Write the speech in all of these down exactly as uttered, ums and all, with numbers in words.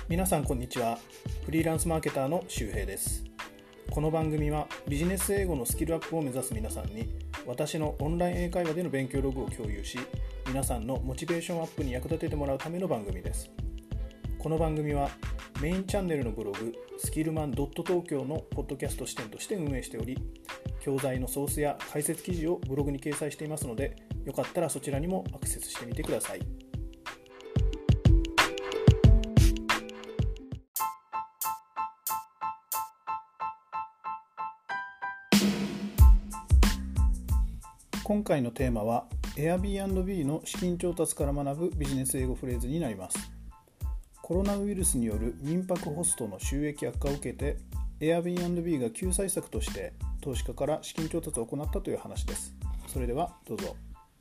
皆さんこんにちは。フリーランスマーケターの周平です。この番組はビジネス英語のスキルアップを目指す皆さんに、私のオンライン英会話での勉強ログを共有し、皆さんのモチベーションアップに役立ててもらうための番組です。この番組はメインチャンネルのブログスキルマン .東京 のポッドキャスト視点として運営しており、教材のソースや解説記事をブログに掲載していますので、よかったらそちらにもアクセスしてみてください。今回のテーマは Airbnb の資金調達から学ぶビジネス英語フレーズになります。コロナウイルスによる民泊ホストの収益悪化を受けて Airbnb が救済策として投資家から資金調達を行ったという話です。それではどうぞ。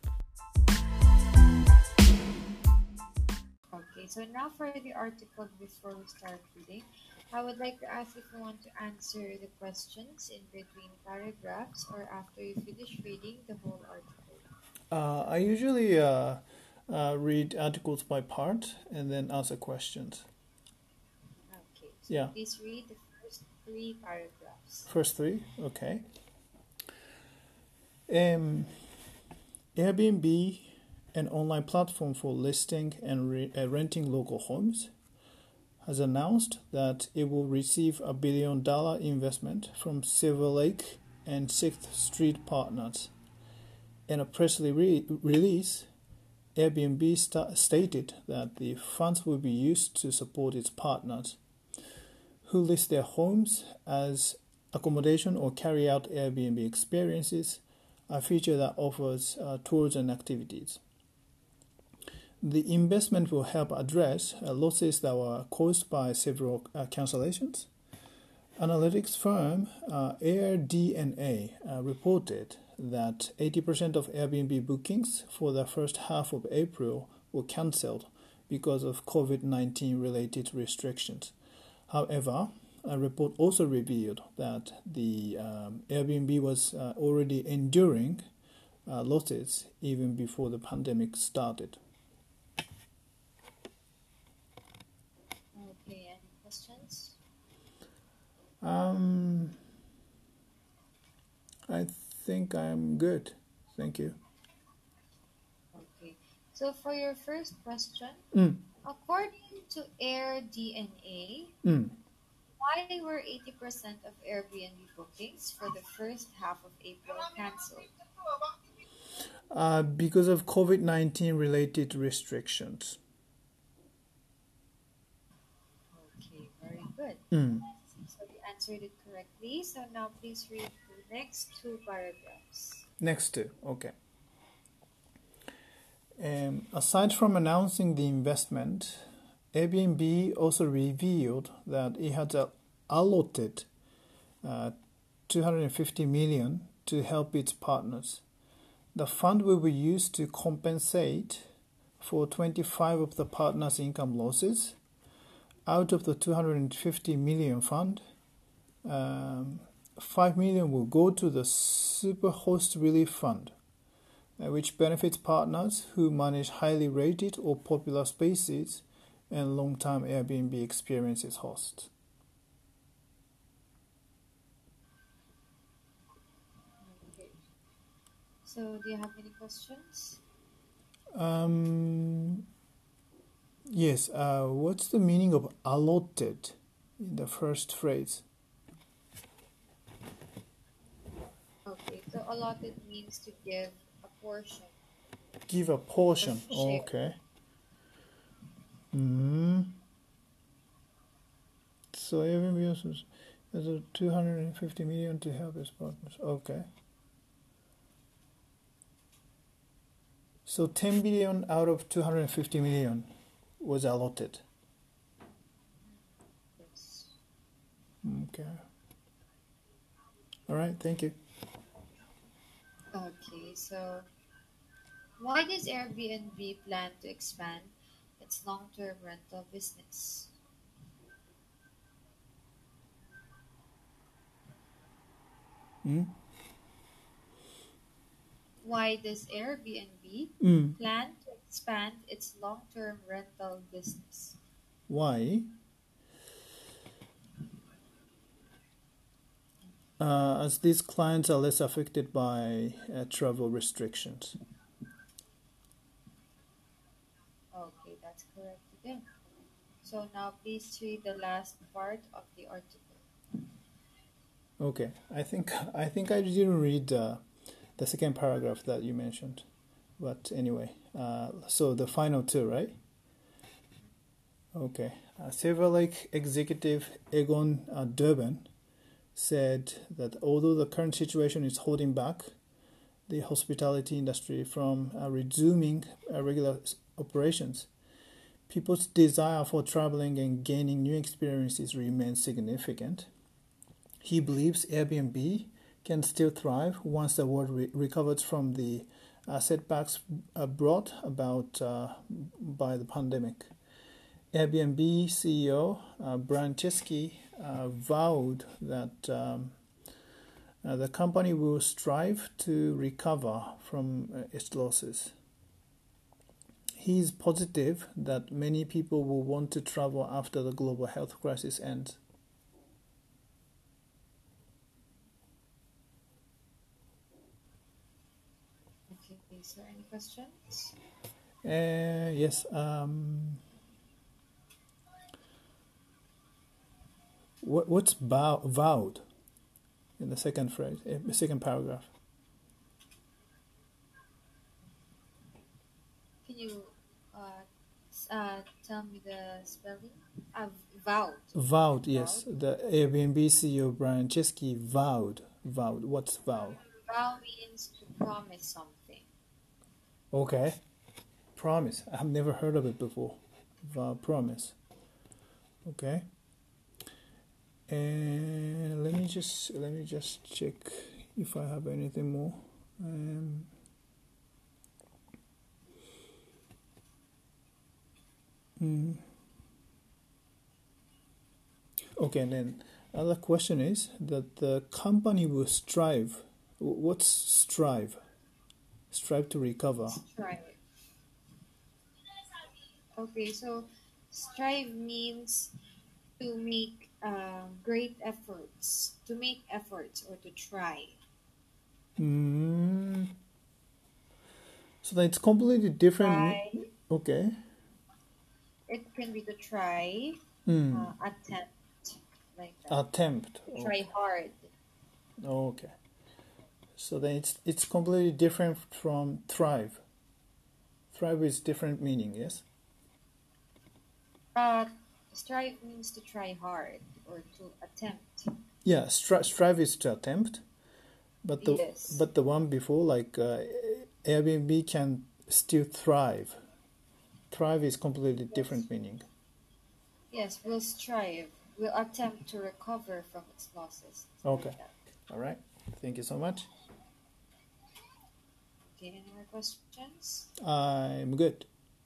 Okay, so now for the article before we start reading, I would like to ask if you want to answer the questions in between paragraphs or after you finish reading the whole article. Uh, I usually uh, uh, read articles by part and then answer questions. Okay, so Yeah. please read the first three paragraphs. First three, okay. Um, Airbnb, an online platform for listing and re- uh, renting local homes, has announced that it will receive a billion dollar investment from Silver Lake and Sixth Street partners. In a press re- release, Airbnb sta- stated that the funds will be used to support its partners who list their homes as accommodation or carry out Airbnb experiences, a feature that offers uh, tours and activities. The investment will help address uh, losses that were caused by several uh, cancellations. Analytics firm uh, AirDNA uh, reported that eighty percent of Airbnb bookings for the first half of April were cancelled because of COVID nineteen related restrictions. However, a report also revealed that the um, Airbnb was uh, already enduring uh, losses even before the pandemic started. Okay, any questions? Um, I think I'm good. Thank you. Okay, so for your first question, Mm, according to AirDNA, mm. why were eighty percent of Airbnb bookings for the first half of April cancelled? Uh, because of COVID nineteen related restrictions. Okay, very good. Mm. So you answered it correctly. So now please read the next two paragraphs. Next two, okay. Um, aside from announcing the investment, Airbnb also revealed that it had uh, allotted uh, two hundred fifty million dollars to help its partners. The fund will be used to compensate for twenty-five of the partners' income losses. Out of the two hundred fifty million fund, um, five million will go to the Superhost Relief Fund, uh, which benefits partners who manage highly rated or popular spaces and long-term Airbnb experiences hosts. Okay. So do you have any questions? Um, yes, uh, what's the meaning of allotted in the first phrase? Okay, so allotted means to give a portion. Give a portion. Or share. Okay. Hmm. So Airbnb has has a two hundred fifty million to help its partners. Okay. So ten billion out of two hundred fifty million was allotted. Yes. Okay. All right. Thank you. Okay, so why does Airbnb plan to expand its long-term rental business? Hmm? Why does Airbnb Mm. plan to expand its long-term rental business? Why? uh, as these clients are less affected by uh, travel restrictions. Okay, that's correct again. So now please read the last part of the article. Okay, I think I think I didn't read uh, the second paragraph that you mentioned, but anyway, uh, so the final two, right? Okay, uh, Silver Lake executive Egon uh, Durban said that although the current situation is holding back the hospitality industry from uh, resuming uh, regular operations, people's desire for traveling and gaining new experiences remains significant. He believes Airbnb can still thrive once the world re- recovers from the uh, setbacks uh, brought about uh, by the pandemic. Airbnb C E O uh, Brian Chesky uh, vowed that um, uh, the company will strive to recover from uh, its losses. He is positive that many people will want to travel after the global health crisis ends. Okay, so any questions? Uh, yes. Um, what what's bow, vowed in the second phrase, uh, second paragraph? Can you uh, s- uh, tell me the spelling? Uh, vowed. Vowed, yes. Vowed. The Airbnb C E O Brian Chesky vowed. Vowed. What's vow? Vow means to promise something. Okay. Promise. I've never heard of it before. Vow, promise. Okay. And let me just let me just check if I have anything more. Um, mm. Okay, and then other question is that the company will strive. What's strive? Strive to recover. Strive. Okay, so strive means to make uh, great efforts, to make efforts or to try. Mm. So that it's completely different. Try. Okay. It can be to try, Mm. uh, attempt, like that. Attempt. Try hard. Okay. So then it's it's completely different from thrive. Thrive is different meaning, yes? Uh, strive means to try hard or to attempt. Yeah, stri- strive is to attempt, but the Yes. but the one before, like uh, Airbnb, can still thrive. Thrive is completely different meaning. Yes, we'll strive. We'll attempt to recover from its losses. Okay. Like that. All right. Thank you so much. Okay, any more questions? I'm good.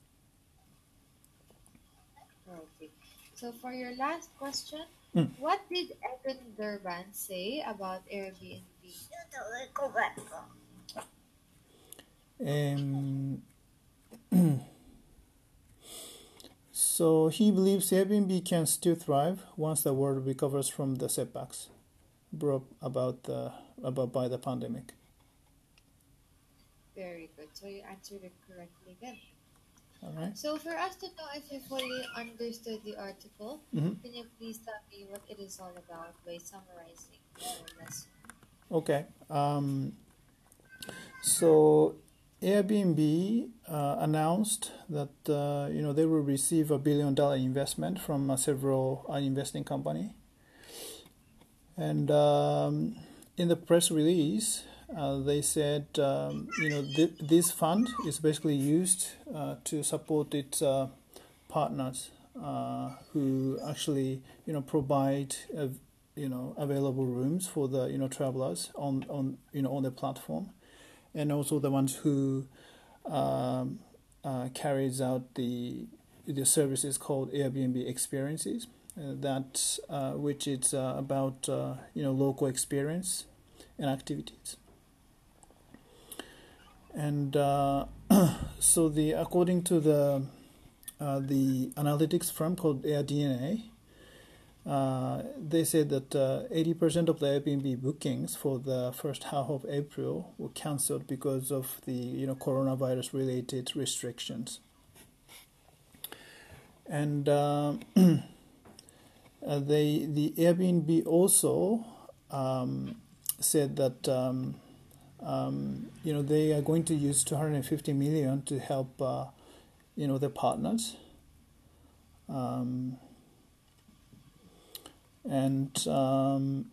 Okay. So for your last question, Mm. what did Evan Durban say about Airbnb? Um, so he believes Airbnb can still thrive once the world recovers from the setbacks brought about the about by the pandemic. Very good. So you answered it correctly again. All right. So for us to know if you fully understood the article, Mhm. can you please tell me what it is all about by summarizing your lesson? Okay. Um, so Airbnb uh, announced that uh, you know they will receive a billion dollar investment from uh, several uh, investing company, and um, in the press release uh, they said um, you know th- this fund is basically used uh, to support its uh, partners uh, who actually you know provide uh, you know available rooms for the you know travelers on on you know on the platform, and also the ones who um, uh, carries out the the services called Airbnb Experiences. Uh, that uh, which is uh, about uh, you know local experience and activities. And uh, so the according to the uh, the analytics firm called AirDNA, Uh, they said that uh, eighty percent of the Airbnb bookings for the first half of April were cancelled because of the you know coronavirus related restrictions. And uh, uh, they the Airbnb also um, said that um, um, you know they are going to use two hundred fifty million to help uh, you know their partners. Um, and um,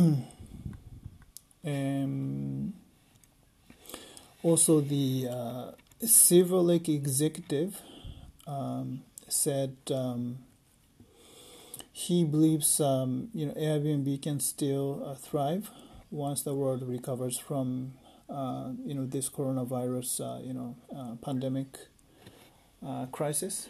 um, also the uh, Silver Lake executive um, said um, he believes um, you know Airbnb can still uh, thrive once the world recovers from uh, you know this coronavirus uh, you know uh, pandemic uh, crisis.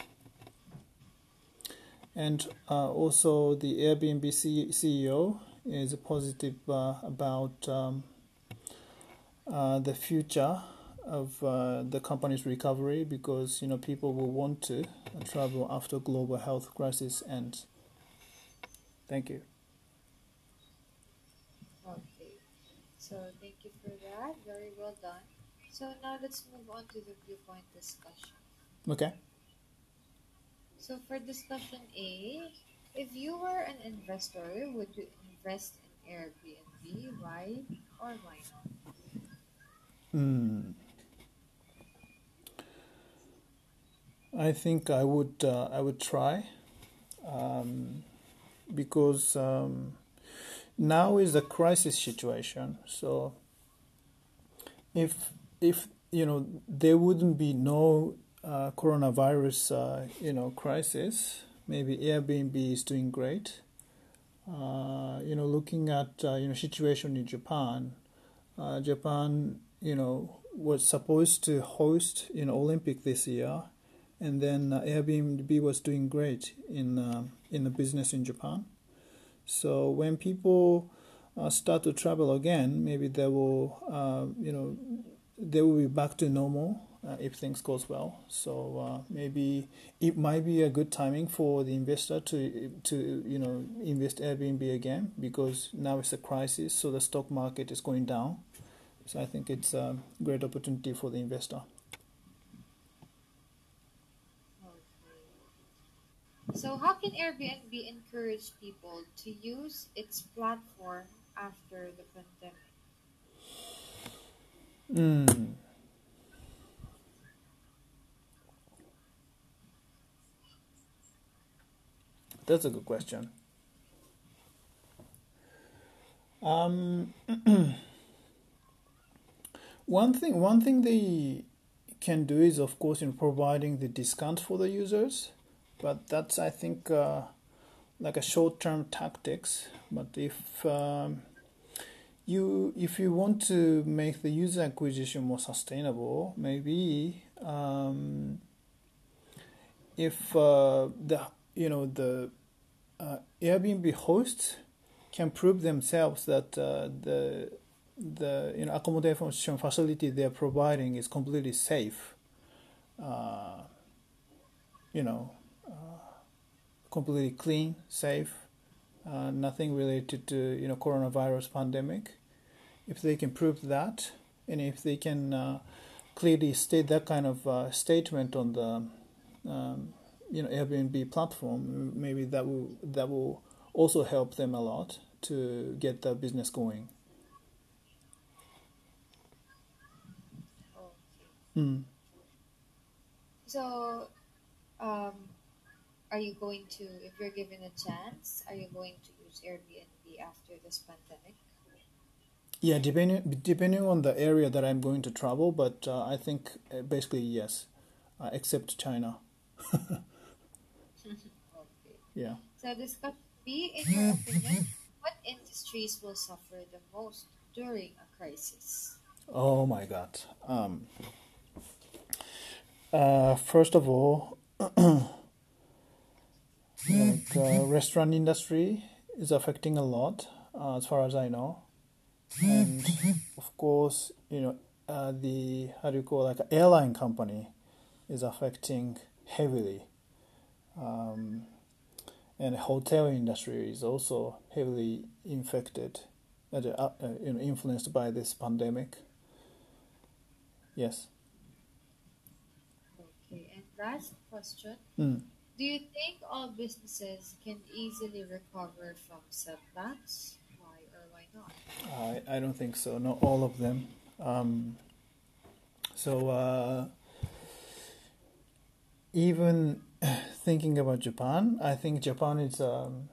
And uh, also the Airbnb C- CEO is positive uh, about um, uh, the future of uh, the company's recovery because you know people will want to travel after global health crisis ends. Thank you. Okay. So thank you for that. Very well done. So now let's move on to the viewpoint discussion. Okay. So for discussion A, if you were an investor, would you invest in Airbnb? Why or why not? Hmm. I think I would uh, I would try um, because um, now is a crisis situation. So if if you know there wouldn't be no uh, coronavirus uh, you know crisis, maybe Airbnb is doing great. Uh, you know, looking at uh, you know situation in Japan, uh, Japan you know was supposed to host you know Olympic this year, and then uh, Airbnb was doing great in uh, in the business in Japan. So when people uh, start to travel again, maybe they will uh, you know they will be back to normal uh, if things goes well. So uh, maybe it might be a good timing for the investor to to you know invest Airbnb again because now it's a crisis, so the stock market is going down. So I think it's a great opportunity for the investor. Okay. So how can Airbnb encourage people to use its platform after the pandemic? Mm, that's a good question. Um, one thing one thing they can do is of course in providing the discount for the users, but that's I think uh, like a short-term tactics. But if um, you if you want to make the user acquisition more sustainable, maybe um, if uh, the you know the uh, Airbnb hosts can prove themselves that uh, the the you know accommodation facility they're providing is completely safe, uh, you know, completely clean, safe, uh, nothing related to you know coronavirus pandemic. If they can prove that, and if they can uh, clearly state that kind of uh, statement on the um, you know Airbnb platform, maybe that will that will also help them a lot to get the business going. Okay. Mm. So um, are you going to, if you're given a chance, are you going to use Airbnb after this pandemic? Yeah, depending depending on the area that I'm going to travel, but uh, I think uh, basically yes, uh, except China. Okay. Yeah. So discussion B, in your opinion, what industries will suffer the most during a crisis? Oh my God. Um. Uh. First of all, like uh, restaurant industry is affecting a lot, uh, as far as I know, and of course, you know, uh, the how do you call it, like airline company is affecting heavily. Um, and hotel industry is also heavily infected, uh, uh, you know, influenced by this pandemic. Yes. Okay, and last question. Mm. Do you think all businesses can easily recover from setbacks? Why or why not? I, I don't think so. Not all of them. Um, so uh, even thinking about Japan, I think Japan is, um,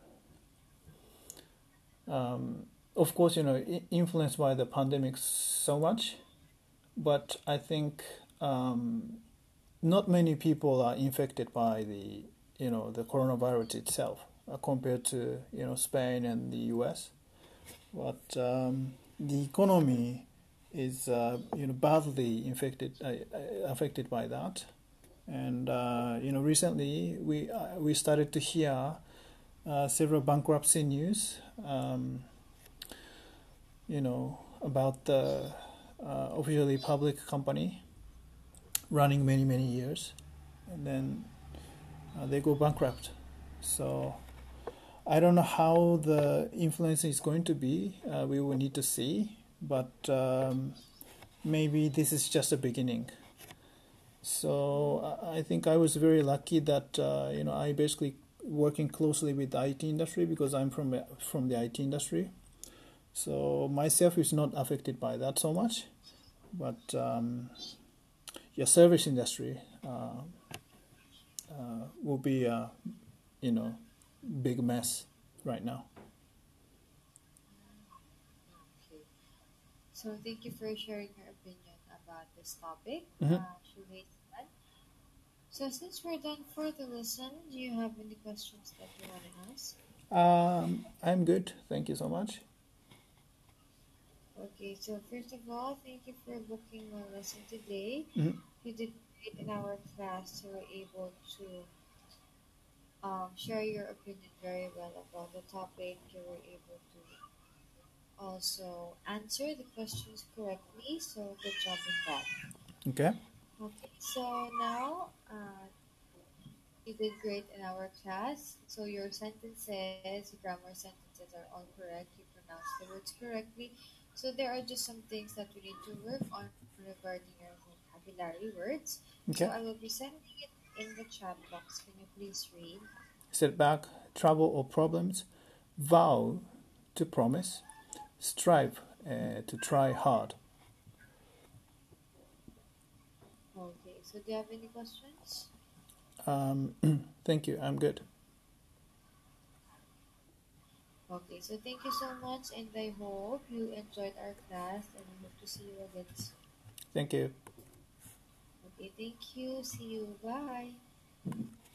um, of course, you know, i- influenced by the pandemic so much, but I think um, not many people are infected by the, you know, the coronavirus itself uh, compared to, you know, Spain and the U S. But um, the economy is, uh, you know, badly infected, uh, uh, affected by that. And uh, you know, recently we uh, we started to hear uh, several bankruptcy news. Um, you know, about the uh, officially public company running many many years, and then uh, they go bankrupt. So I don't know how the influence is going to be. Uh, we will need to see, but um, maybe this is just a beginning. So I I think I was very lucky that uh, you know I basically working closely with the I T industry because I'm from from the I T industry. So myself is not affected by that so much, but um, your service industry uh, uh, will be a you know big mess right now. Okay. So thank you for sharing your opinion about this topic. Hmm. Uh, Shuhei san. So since we're done for the lesson, do you have any questions that you want to ask? Um, I'm good. Thank you so much. Okay, so first of all, thank you for booking my lesson today. Mhm. You did great in our class. You were able to um, share your opinion very well about the topic. You were able to also answer the questions correctly. So good job in that. Okay. Okay, so now uh, you did great in our class. So your sentences, grammar sentences are all correct. You pronounced the words correctly. So there are just some things that we need to work on regarding your vocabulary words. So Okay. I will be sending it in the chat box. Can you please read? Setback, trouble or problems. Vow to promise. Strive uh, to try hard. Okay, so do you have any questions? Um, thank you. I'm good. Okay, so thank you so much, and I hope you enjoyed our class, and I hope to see you again soon. Thank you. Okay, thank you. See you. Bye.